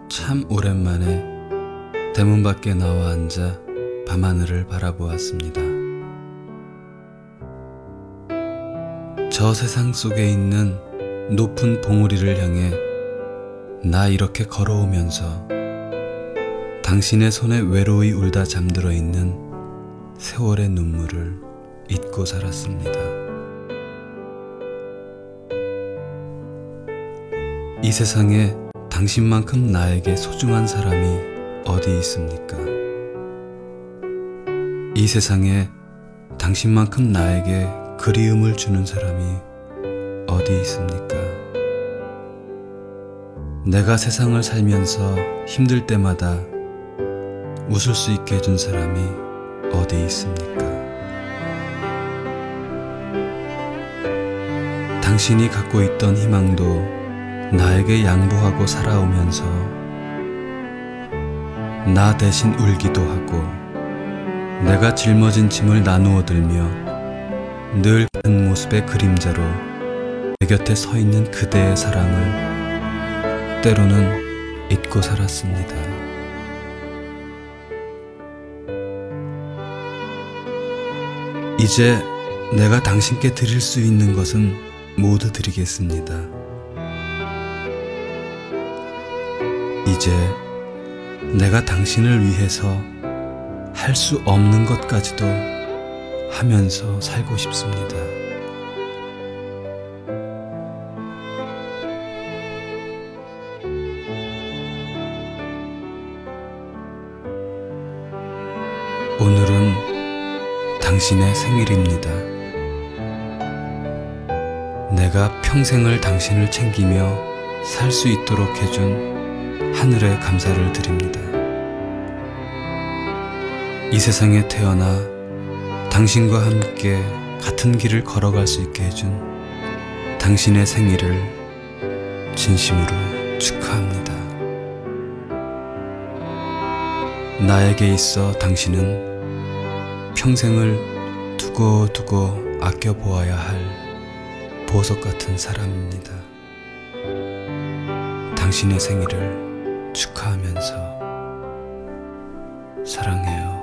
참 오랜만에 대문 밖에 나와 앉아 밤하늘을 바라보았습니다. 저 세상 속에 있는 높은 봉우리를 향해 나 이렇게 걸어오면서 당신의 손에 외로이 울다 잠들어 있는 세월의 눈물을 잊고 살았습니다. 이 세상에 당신만큼 나에게 소중한 사람이 어디 있습니까? 이 세상에 당신만큼 나에게 그리움을 주는 사람이 어디 있습니까? 내가 세상을 살면서 힘들 때마다 웃을 수 있게 해준 사람이 어디 있습니까? 당신이 갖고 있던 희망도 나에게 양보하고 살아오면서 나 대신 울기도 하고 내가 짊어진 짐을 나누어 들며 늘 그 모습의 그림자로 내 곁에 서 있는 그대의 사랑을 때로는 잊고 살았습니다. 이제 내가 당신께 드릴 수 있는 것은 모두 드리겠습니다. 이제 내가 당신을 위해서 할 수 없는 것까지도 하면서 살고 싶습니다. 오늘은 당신의 생일입니다. 내가 평생을 당신을 챙기며 살 수 있도록 해준 하늘에 감사를 드립니다. 이 세상에 태어나 당신과 함께 같은 길을 걸어갈 수 있게 해준 당신의 생일을 진심으로 축하합니다. 나에게 있어 당신은 평생을 두고두고 아껴보아야 할 보석 같은 사람입니다. 당신의 생일을 축하하면서 사랑해요.